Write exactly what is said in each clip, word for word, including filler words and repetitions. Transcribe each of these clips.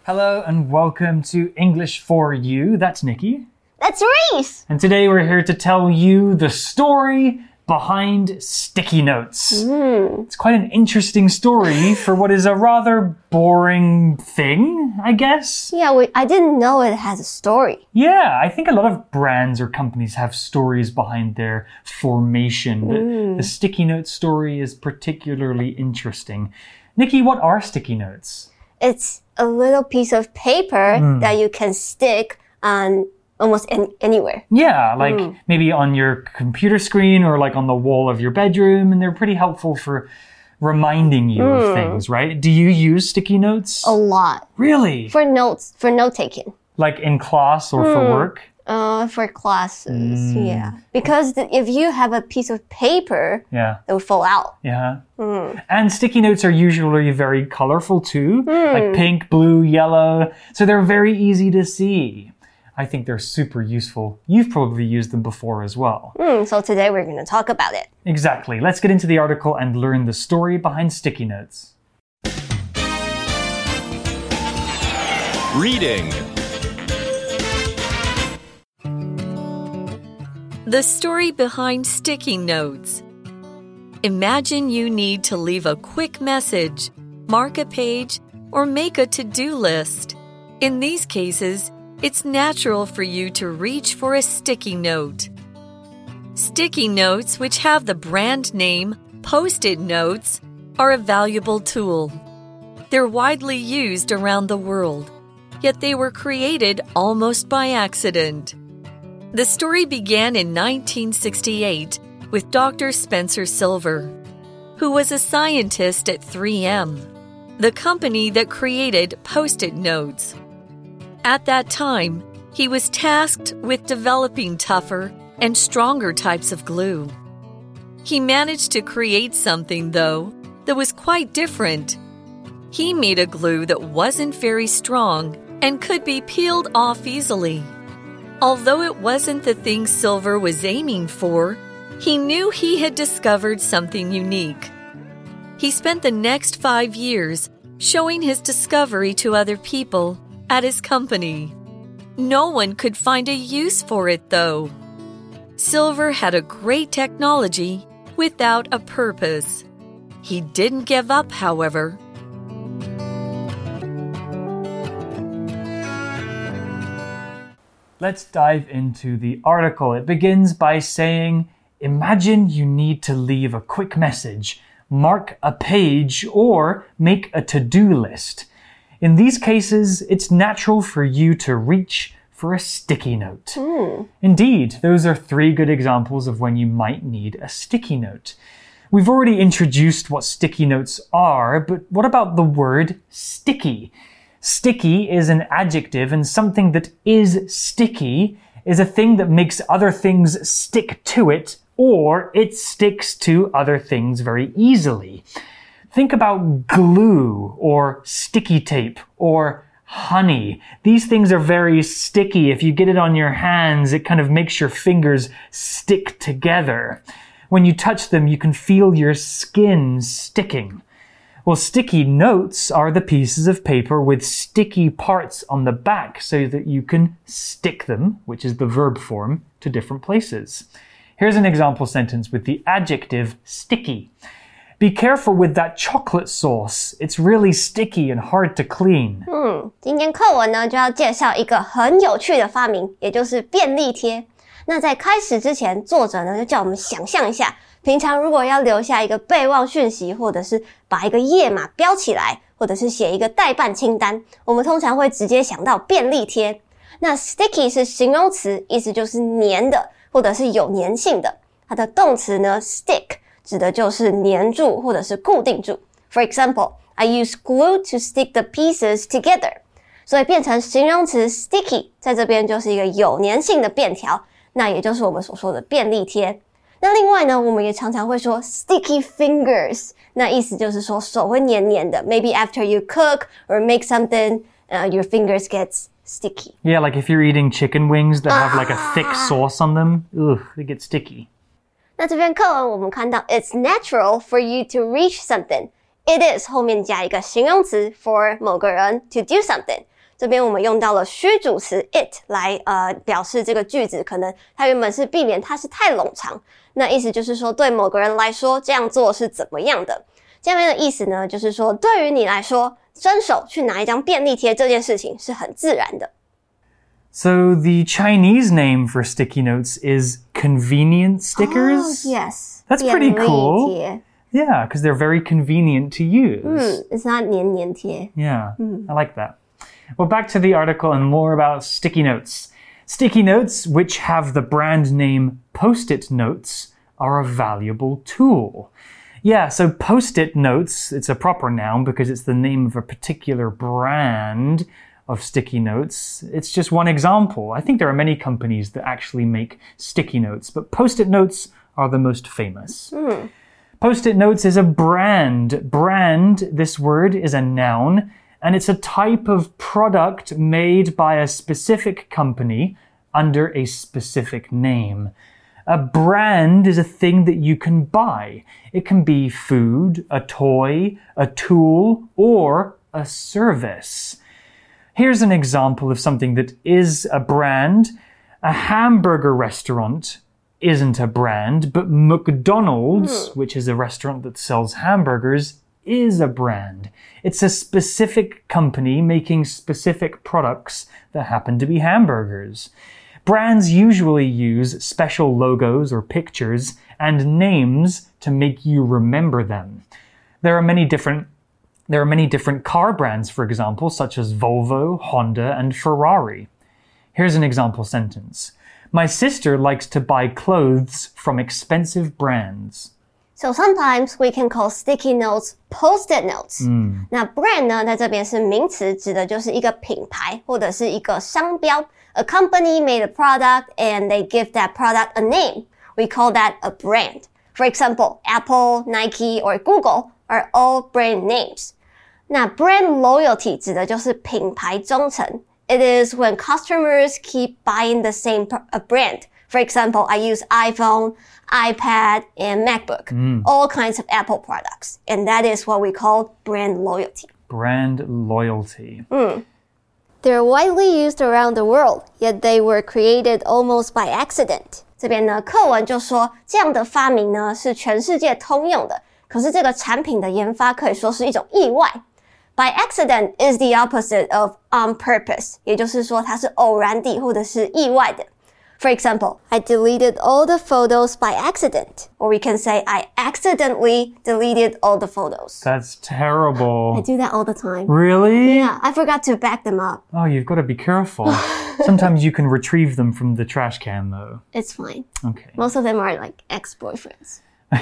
Hello and welcome to English for You. That's Nikki. That's Reese. And today we're here to tell you the story behind sticky notes. Mm. It's quite an interesting story for what is a rather boring thing, I guess. Yeah, we, I didn't know it has a story. Yeah, I think a lot of brands or companies have stories behind their formation. But mm. the sticky note story is particularly interesting. Nikki, what are sticky notes? It's a little piece of paper mm. that you can stick on almost any, anywhere. Yeah, like mm. maybe on your computer screen or like on the wall of your bedroom, and they're pretty helpful for reminding you mm. of things, right? Do you use sticky notes? A lot. Really? For notes, for note-taking. Like in class or mm. for work? Uh, for classes, mm. yeah. Because the, if you have a piece of paper, yeah. it will fall out. Yeah. Mm. And sticky notes are usually very colorful too, mm. like pink, blue, yellow. So they're very easy to see. I think they're super useful. You've probably used them before as well. Mm, so today we're going to talk about it. Exactly. Let's get into the article and learn the story behind sticky notes. Reading. The story behind sticky notes. Imagine you need to leave a quick message, mark a page, or make a to-do list. In these cases, it's natural for you to reach for a sticky note. Sticky notes, which have the brand name Post-it Notes, are a valuable tool. They're widely used around the world, yet they were created almost by accident. The story began in nineteen sixty-eight with Doctor Spencer Silver, who was a scientist at three M, the company that created Post-it Notes. At that time, he was tasked with developing tougher and stronger types of glue. He managed to create something, though, that was quite different. He made a glue that wasn't very strong and could be peeled off easily. Although it wasn't the thing Silver was aiming for, he knew he had discovered something unique. He spent the next five years showing his discovery to other people at his company. No one could find a use for it, though. Silver had a great technology without a purpose. He didn't give up, however. Let's dive into the article. It begins by saying, imagine you need to leave a quick message, mark a page, or make a to-do list. In these cases, it's natural for you to reach for a sticky note. Mm. Indeed, those are three good examples of when you might need a sticky note. We've already introduced what sticky notes are, but what about the word sticky? Sticky is an adjective, and something that is sticky is a thing that makes other things stick to it, or it sticks to other things very easily. Think about glue, or sticky tape, or honey. These things are very sticky. If you get it on your hands, it kind of makes your fingers stick together. When you touch them, you can feel your skin sticking. Well, sticky notes are the pieces of paper with sticky parts on the back so that you can stick them, which is the verb form, to different places. Here's an example sentence with the adjective sticky. Be careful with that chocolate sauce. It's really sticky and hard to clean. 嗯，今天课文呢就要介绍一个很有趣的发明，也就是便利贴。那在開始之前，作者呢就叫我們想象一下，平常如果要留下一個備忘訊息，或者是把一個頁碼標起來，或者是寫一個待辦清單，我們通常會直接想到便利貼。那 sticky 是形容詞，意思就是黏的，或者是有黏性的。它的動詞呢 stick 指的就是黏住或者是固定住。For example, I use glue to stick the pieces together. 所以变成形容詞 sticky 在這邊就是一個有黏性的便條，那也就是我們所說的便利貼。那另外呢，我們也常常會說 sticky fingers， 那意思就是說手會黏黏的。Maybe after you cook or make something, uh, your fingers gets sticky. Yeah, like if you're eating chicken wings that have like a thick sauce on them, ugh, they get sticky. 那這篇課文我們看到 It's natural for you to reach something. It is 後面加一個形容詞 for 某個人 to do something. 這邊我們用到了虛主詞 it 來呃表示這個句子，可能它原本是避免它是太冗長，那意思就是說對某個人來說這樣做是怎麼樣的。下面的意思呢，就是說對於你來說，伸手去拿一張便利貼這件事情是很自然的。 So the Chinese name for sticky notes is convenient stickers? Oh, yes. That's pretty cool. 便利貼 Yeah, because they're very convenient to use. 嗯 it's not 黏黏貼 Yeah, I like that. Well, back to the article and more about sticky notes. Sticky notes, which have the brand name Post-it notes, are a valuable tool. Yeah, so Post-it notes, it's a proper noun because it's the name of a particular brand of sticky notes. It's just one example. I think there are many companies that actually make sticky notes, but Post-it notes are the most famous. Mm. Post-it notes is a brand. Brand, this word, is a noun, and it's a type of product made by a specific company under a specific name. A brand is a thing that you can buy. It can be food, a toy, a tool, or a service. Here's an example of something that is a brand. A hamburger restaurant isn't a brand, but McDonald's, mm. which is a restaurant that sells hamburgers, is a brand. It's a specific company making specific products that happen to be hamburgers. Brands usually use special logos or pictures and names to make you remember them. There are many different There are many different car brands, for example, such as Volvo, Honda, and Ferrari. Here's an example sentence. My sister likes to buy clothes from expensive brands. So sometimes we can call sticky notes post-it notes. 嗯， 那 brand 呢，在這邊是名詞，指的就是一個品牌或者是一個商標。A company made a product and they give that product a name. We call that a brand. For example, Apple, Nike, or Google are all brand names. 那 brand loyalty 指的就是品牌忠誠。It is when customers keep buying the same brand. For example, I use iPhone, iPad, and MacBook, mm. all kinds of Apple products. And that is what we call brand loyalty. Brand loyalty. Mm. They're widely used around the world, yet they were created almost by accident. 這邊呢，課文就說這樣的發明呢是全世界通用的，可是這個產品的研發可以說是一種意外。By accident is the opposite of on purpose, 也就是說它是偶然的或者是意外的。For example, I deleted all the photos by accident. Or we can say I accidentally deleted all the photos. That's terrible. I do that all the time. Really? Yeah, I forgot to back them up. Oh, you've got to be careful. Sometimes you can retrieve them from the trash can, though. It's fine. Okay. Most of them are like ex-boyfriends.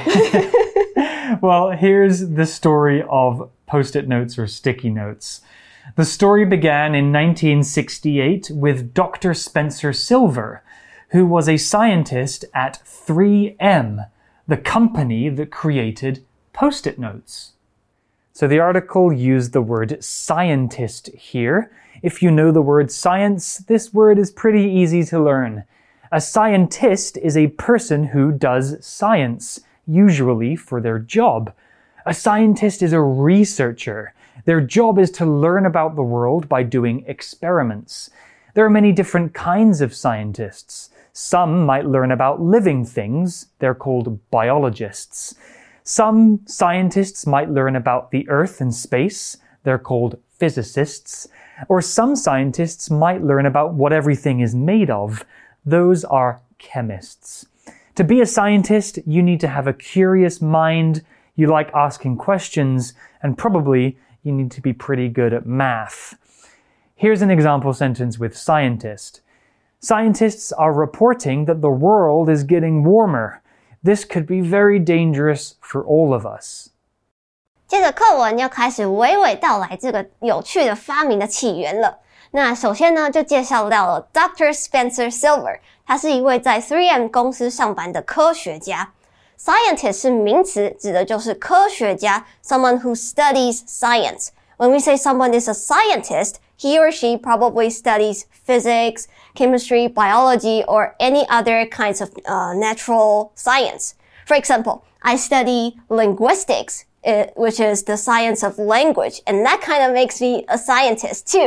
Well, here's the story of Post-it notes or sticky notes. The story began in nineteen sixty-eight with Doctor Spencer Silver, who was a scientist at three M, the company that created Post-it notes. So the article used the word scientist here. If you know the word science, this word is pretty easy to learn. A scientist is a person who does science, usually for their job. A scientist is a researcher. Their job is to learn about the world by doing experiments. There are many different kinds of scientists. Some might learn about living things. They're called biologists. Some scientists might learn about the Earth and space. They're called physicists. Or some scientists might learn about what everything is made of. Those are chemists. To be a scientist, you need to have a curious mind, you like asking questions, and probably you need to be pretty good at math. Here's an example sentence with scientist. Scientists are reporting that the world is getting warmer. This could be very dangerous for all of us. 接着課文要開始娓娓道來這個有趣的發明的起源了。那首先呢，就介紹到了 Doctor Spencer Silver， 他是一位在 three M 公司上班的科學家。Scientist 是名詞，指的就是科學家 someone who studies science. When we say someone is a scientist, he or she probably studies physics, chemistry, biology, or any other kinds of uh, natural science. For example, I study linguistics, which is the science of language, and that kind of makes me a scientist too.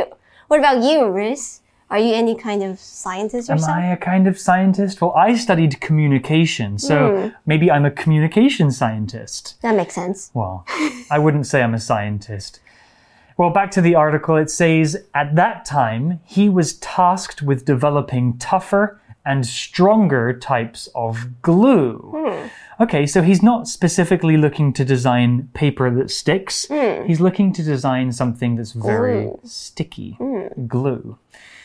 What about you, Riz? Are you any kind of scientist yourself? Am I a kind of scientist? Well, I studied communication, so mm. maybe I'm a communication scientist. That makes sense. Well, I wouldn't say I'm a scientist. Well, back to the article, it says, at that time, he was tasked with developing tougher and stronger types of glue. Mm. Okay, so he's not specifically looking to design paper that sticks. Mm. He's looking to design something that's very glue. sticky. Mm. Glue.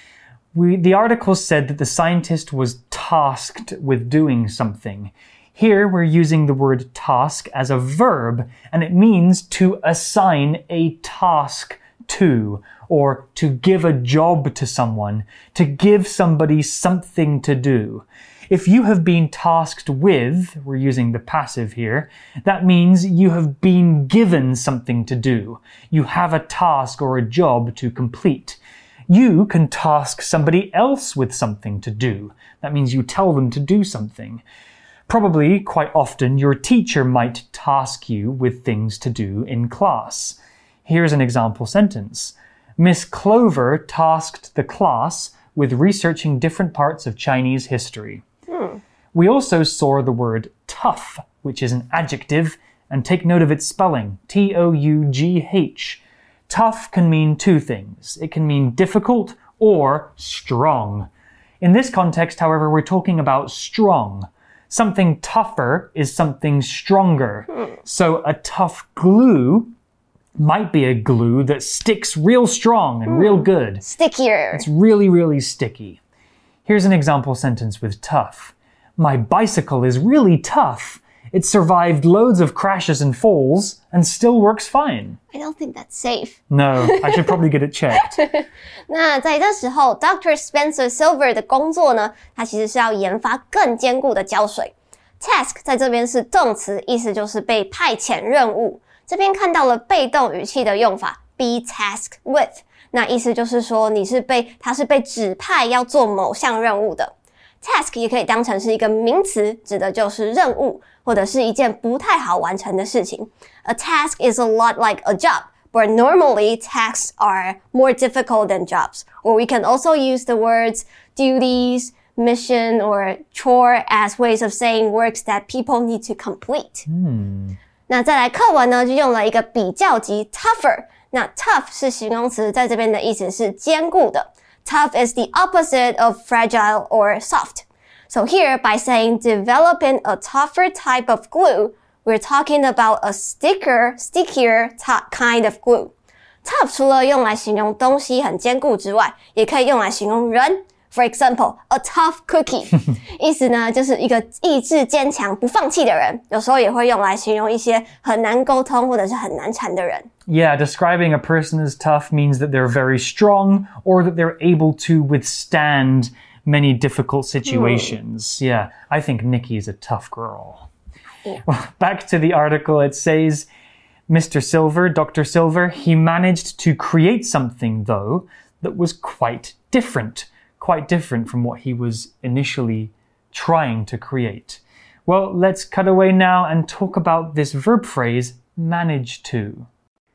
We, the article said that the scientist was tasked with doing something. Here, we're using the word task as a verb, and it means to assign a task to, or to give a job to someone, to give somebody something to do. If you have been tasked with, we're using the passive here, that means you have been given something to do. You have a task or a job to complete. You can task somebody else with something to do. That means you tell them to do something. Probably, quite often, your teacher might task you with things to do in class. Here's an example sentence. Miss Clover tasked the class with researching different parts of Chinese history. Hmm. We also saw the word tough, which is an adjective, and take note of its spelling, T O U G H. Tough can mean two things. It can mean difficult or strong. In this context, however, we're talking about strong. Something tougher is something stronger. Hmm. So a tough glue might be a glue that sticks real strong and hmm. real good. Stickier. It's really, really sticky. Here's an example sentence with tough. My bicycle is really tough. It survived loads of crashes and falls and still works fine. I don't think that's safe. No, I should probably get it checked. 那在这时候 Doctor Spencer Silver 的工作呢，他其实是要研发更坚固的胶水。Task 在这边是动詞，意思就是被派遣任務。这邊看到了被動語氣的用法 be tasked with， 那意思就是說你是被他是被指派要做某項任務的。Task 也可以當成是一個名詞，指的就是任務，或者是一件不太好完成的事情。A task is a lot like a job, but normally tasks are more difficult than jobs. Or we can also use the words duties, mission, or chore as ways of saying works that people need to complete. 嗯， 那再來課文呢，就用了一個比較級 tougher。那 tough 是形容詞，在這邊的意思是堅固的。Tough is the opposite of fragile or soft. So here, by saying developing a tougher type of glue, we're talking about a sticker, stickier kind of glue. Tough 除了用來形容東西很堅固之外，也可以用來形容人。For example, a tough cookie. 意思呢，就是一個意志堅強、不放棄的人。有時候也會用來形容一些很難溝通或者是很難纏的人。 Yeah, describing a person as tough means that they're very strong or that they're able to withstand many difficult situations. Hmm. Yeah, I think Nikki is a tough girl. Yeah. Well, back to the article, it says, Mister Silver, Doctor Silver, he managed to create something, though, that was quite different. Quite different from what he was initially trying to create. Well, let's cut away now and talk about this verb phrase, manage to.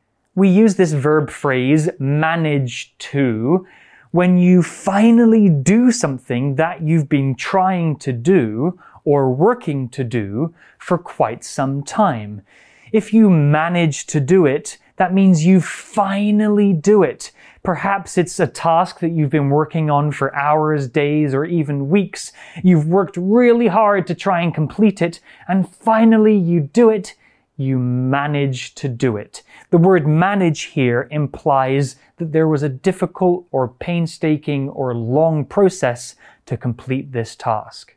We use this verb phrase, manage to, when you finally do something that you've been trying to do or working to do for quite some time. If you manage to do it, that means you finally do it. Perhaps it's a task that you've been working on for hours, days, or even weeks. You've worked really hard to try and complete it, and finally you do it. You manage to do it. The word manage here implies that there was a difficult or painstaking or long process to complete this task.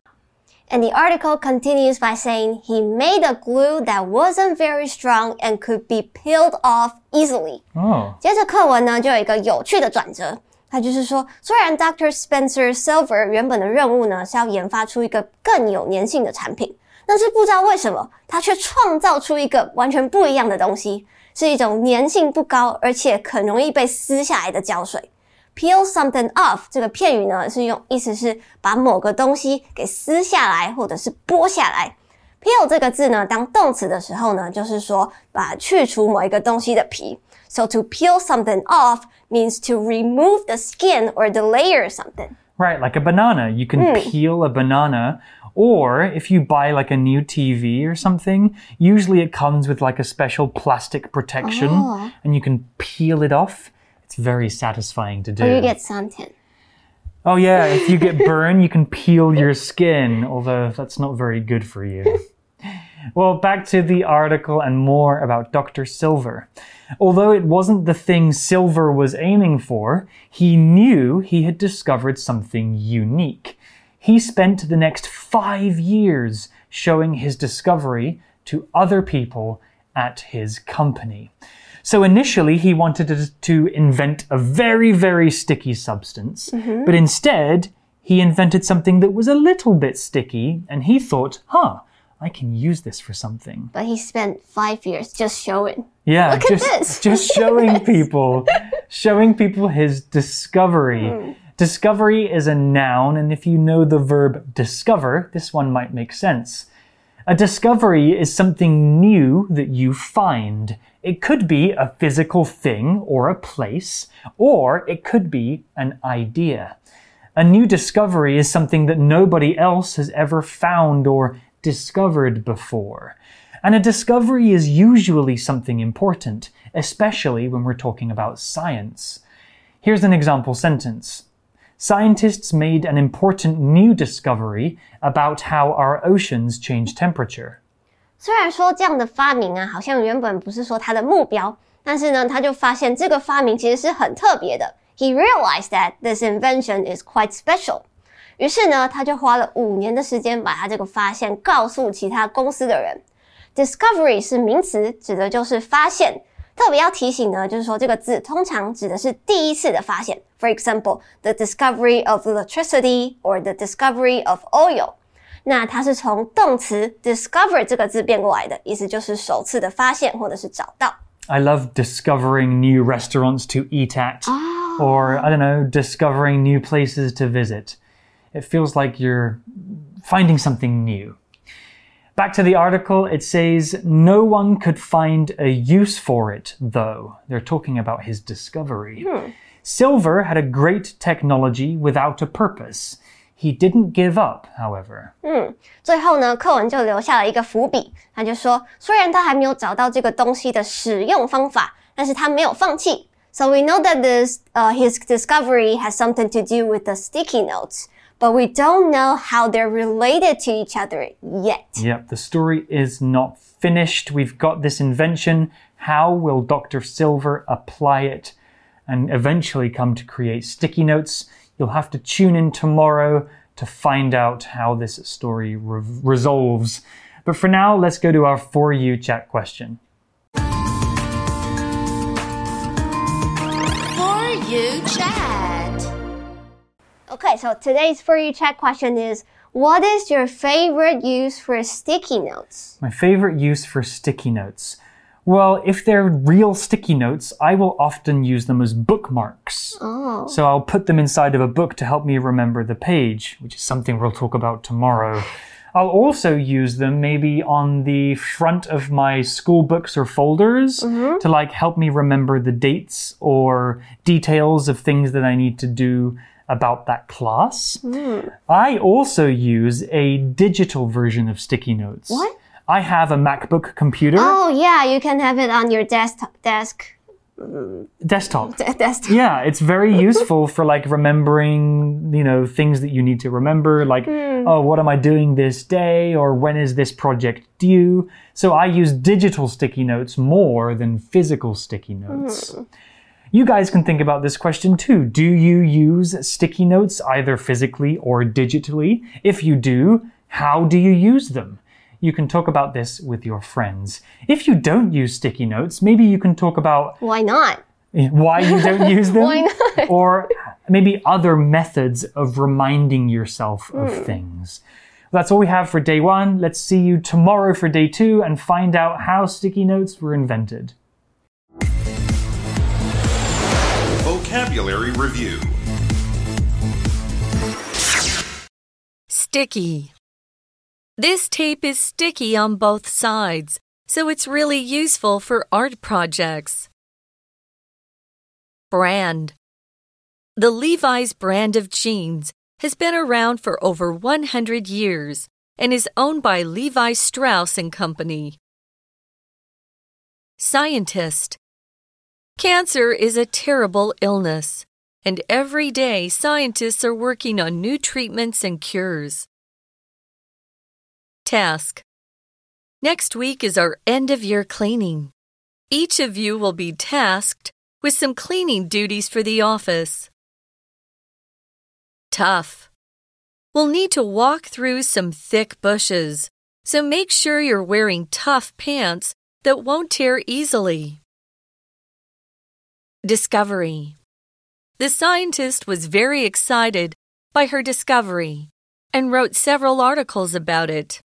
And the article continues by saying he made a glue that wasn't very strong and could be peeled off easily. Oh. 接着課文呢，就有一個有趣的轉折。它就是說，雖然 Doctor Spencer Silver 原本的任務呢，是要研發出一個更有粘性的產品，但是不知道為什麼，他卻創造出一個完全不一樣的東西，是一種粘性不高，而且很容易被撕下來的膠水。Peel something off 這個片語呢，是用意思是把某個東西給撕下來或者是剝下來。 Peel 這個字呢，當動詞的時候呢，就是說把去除某一個東西的皮。So to peel something off means to remove the skin or the layer of something. Right, like a banana. You can Mm. peel a banana. Or if you buy like a new T V or something, usually it comes with like a special plastic protection Oh. and you can peel it off. It's very satisfying to do. Or you get suntan. Oh yeah, if you get burned, you can peel your skin, although that's not very good for you. Well, back to the article and more about Doctor Silver. Although it wasn't the thing Silver was aiming for, he knew he had discovered something unique. He spent the next five years showing his discovery to other people at his company. So initially, he wanted to invent a very, very sticky substance, mm-hmm. but instead, he invented something that was a little bit sticky, and he thought, huh, I can use this for something. But he spent five years just showing. Yeah, Look just, at this. just showing people, showing people his discovery. Mm. Discovery is a noun, and if you know the verb discover, this one might make sense. A discovery is something new that you find. It could be a physical thing or a place, or it could be an idea. A new discovery is something that nobody else has ever found or discovered before. And a discovery is usually something important, especially when we're talking about science. Here's an example sentence. Scientists made an important new discovery about how our oceans change temperature. 虽然说这样的发明啊，好像原本不是说他的目標，但是呢，他就發現這個發明其實是很特別的。He realized that this invention is quite special. 於是呢，他就花了五年的時間把他這個發現告訴其他公司的人。Discovery 是名詞，指的就是發現。特別要提醒呢，就是說這個字通常指的是第一次的發現。For example, the discovery of electricity or the discovery of oil. 那它是從動詞 discover 這個字變過來的，意思就是首次的發現或者是找到。 I love discovering new restaurants to eat at, oh. or, I don't know, discovering new places to visit. It feels like you're finding something new. Back to the article, it says, no one could find a use for it, though. They're talking about his discovery. Hmm. Silver had a great technology without a purpose. He didn't give up, however. 嗯，最後呢，課文就留下了一個伏筆。他就說，雖然他還沒有找到這個東西的使用方法，但是他沒有放棄。So we know that this, uh, his discovery has something to do with the sticky notes. But we don't know how they're related to each other yet. Yep, the story is not finished. We've got this invention. How will Doctor Silver apply it and eventually come to create sticky notes? You'll have to tune in tomorrow to find out how this story re- resolves. But for now, let's go to our For You chat question. For You chat. Okay, so today's For You chat question is, what is your favorite use for sticky notes? My favorite use for sticky notes. Well, if they're real sticky notes, I will often use them as bookmarks. Oh. So I'll put them inside of a book to help me remember the page, which is something we'll talk about tomorrow. I'll also use them maybe on the front of my school books or folders mm-hmm. to like help me remember the dates or details of things that I need to do about that class. Mm. I also use a digital version of sticky notes. What? I have a MacBook computer. Oh, yeah, you can have it on your desktop, desk. Desktop. D- desktop. Yeah, it's very useful for like remembering, you know, things that you need to remember, like, mm. oh, what am I doing this day? Or when is this project due? So I use digital sticky notes more than physical sticky notes. Mm. You guys can think about this question too. Do you use sticky notes either physically or digitally? If you do, how do you use them? You can talk about this with your friends. If you don't use sticky notes, maybe you can talk about... Why not? Why you don't use them? Why not? Or maybe other methods of reminding yourself of mm. things. That's all we have for day one. Let's see you tomorrow for day two and find out how sticky notes were invented. Vocabulary Review. Sticky. This tape is sticky on both sides, so it's really useful for art projects. Brand. The Levi's brand of jeans has been around for over one hundred years and is owned by Levi Strauss and Company. Scientist. Cancer is a terrible illness, and every day scientists are working on new treatments and cures. Task. Next week is our end-of-year cleaning. Each of you will be tasked with some cleaning duties for the office. Tough. We'll need to walk through some thick bushes, so make sure you're wearing tough pants that won't tear easily. Discovery. The scientist was very excited by her discovery and wrote several articles about it.